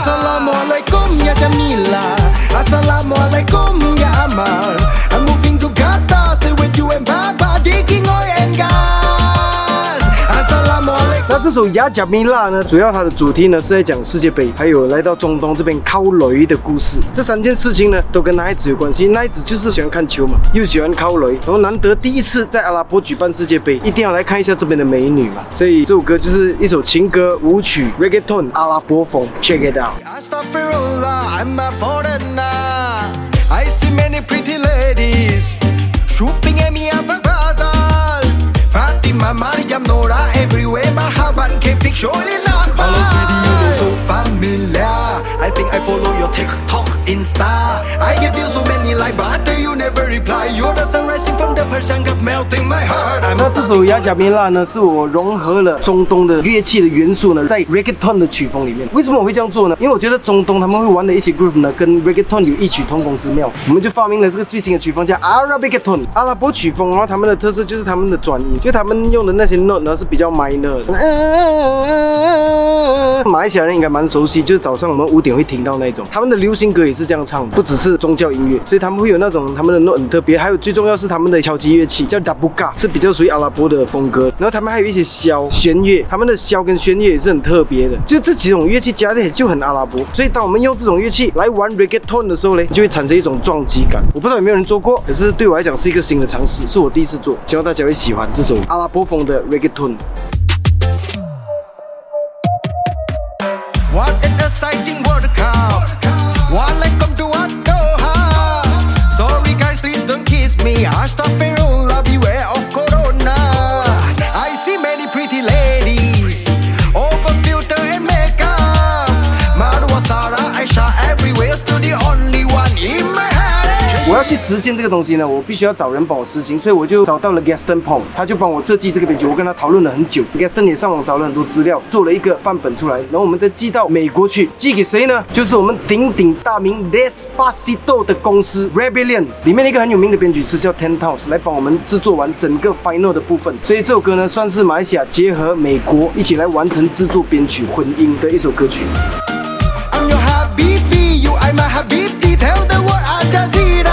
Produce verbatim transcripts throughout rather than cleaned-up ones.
Assalamualaikum ya Jamila, Assalamualaikum ya Amal. I'm moving to Qatar, stay with you and Baba, digging oil and gas. Assalamualaikum。 那这首《呀加米拉》呢，主要它的主题呢是在讲世界杯，还有来到中东这边靠雷的故事。这三件事情呢，都跟奈子有关系。奈子就是喜欢看球嘛，又喜欢靠雷，然后难得第一次在阿拉伯举办世界杯，一定要来看一下这边的美女嘛。所以这首歌就是一首情歌舞曲 ，reggaeton 阿拉伯风 ，check it out。 Astaghfirullah, I'm a foreigner. I see many pretty ladies shopping at me up a bazaar. Fatima, Mariam, Nora, everywhere. Marhaban, Kefik, Sholin, Akbar. All those videos so familiar. I think I follow your TikTok, Insta. I give you so many likes, but you never reply. You're the sun rising from the Persian Gulf, melting my heart. I'm 那这首《呀加米拉》呢，是我融合了中东的乐器的元素呢，在 reggaeton 的曲风里面。为什么我会这样做呢？因为我觉得中东他们会玩的一些 groove 呢，跟 reggaeton 有异曲同工之妙。我们就发明了这个最新的曲风，叫 Arabicton 阿拉伯曲风。然后他们的特色就是他们的转音，就他们用的那些 note 呢是比较 minor 的。马来西亚人应该蛮熟悉，就是早上我们五点会听到那种。他们的流行歌也是这样唱的，不只是宗教音乐，所以他们会有那种他们的 note 很特别。还有最重要是他们的敲击乐器叫 dabuka， 是比较属于阿拉伯的风格。然后他们还有一些箫、弦乐，他们的箫跟弦乐也是很特别的，就这几种乐器加在一起就很阿拉伯。所以当我们用这种乐器来玩 reggaeton 的时候呢，就会产生一种撞击感。我不知道有没有人做过，可是对我来讲是一个新的尝试，是我第一次做，希望大家会喜欢这首阿拉伯风的 reggaeton。 What an exciting World Cup. Welcome to Doha. Sorry guys, please don't kiss me. Astaghfirullah, beware of Corona. I see many pretty ladies, open filter and makeup. Marwa, Sarah, Aisha, everywhere, still the only one in my head. 我要去实践这个东西呢，我必须要找人帮我实行，所以我就找到了 Gaston Pong， 他就帮我设计这个编曲。我跟他讨论了很久 ，Gaston 也上网找了很多资料，做了一个范本出来，然后我们再寄到美国去，寄给谁呢？就是我们鼎鼎大名 Despacito 的公司 Rebellions 里面的一个很有名的编曲师叫 Ten Towns 来帮我们制作完整个 final 的部分。所以这首歌呢，算是马来西亚结合美国一起来完成制作编曲混音的一首歌曲。 I'm your Habibi, you are my Habibi. Tell the world Al Jazeera.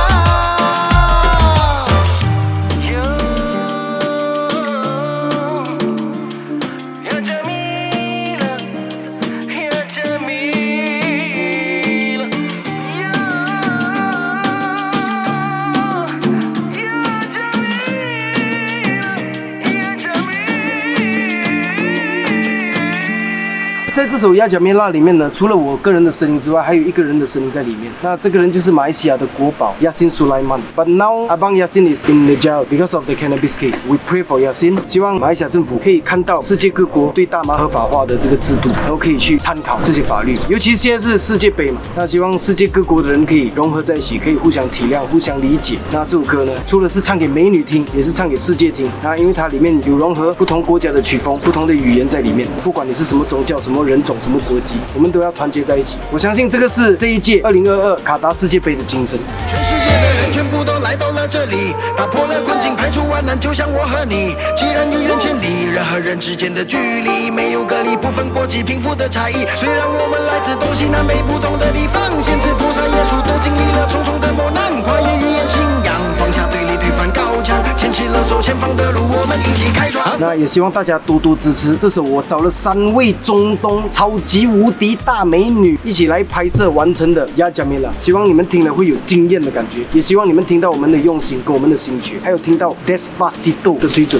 《在这首《呀加米拉》里面呢，除了我个人的声音之外，还有一个人的声音在里面。那这个人就是马来西亚的国宝 Yassin Sulaiman。But now Abang Yassin is in the jail because of the cannabis case. We pray for Yassin， 希望马来西亚政府可以看到世界各国对大麻合法化的这个制度，然后可以去参考这些法律。尤其现在是世界杯嘛，那希望世界各国的人可以融合在一起，可以互相体谅、互相理解。那这首歌呢，除了是唱给美女听，也是唱给世界听。那因为它里面有融合不同国家的曲风、不同的语言在里面，不管你是什么宗教、什么人种、什么国籍，我们都要团结在一起。我相信这个是这一届二零二二卡达世界杯的精神。 全世界的人全部都来到了这里，打破了困境，排除万难，就像我和你。既然有缘千里，人和人之间的距离没有隔离，不分国籍贫富的差异。虽然我们来自东西南北不同的地方，先知菩萨耶稣都经历了重重的磨难，跨越语言信仰，放下对立，推翻高墙，牵起了手，前方的路我们一起开创。 那也希望大家多多支持这首我找了三位中东超级无敌大美女一起来拍摄完成的《呀加米拉》，希望你们听了会有惊艳的感觉，也希望你们听到我们的用心跟我们的心血，还有听到 Despacito 的水准。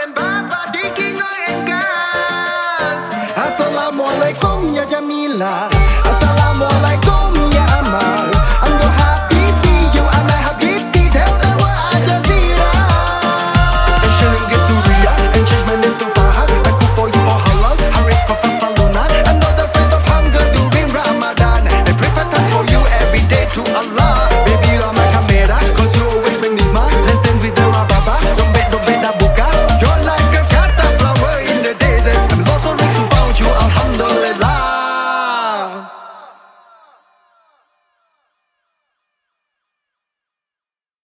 Assalamualaikum ya Jamila.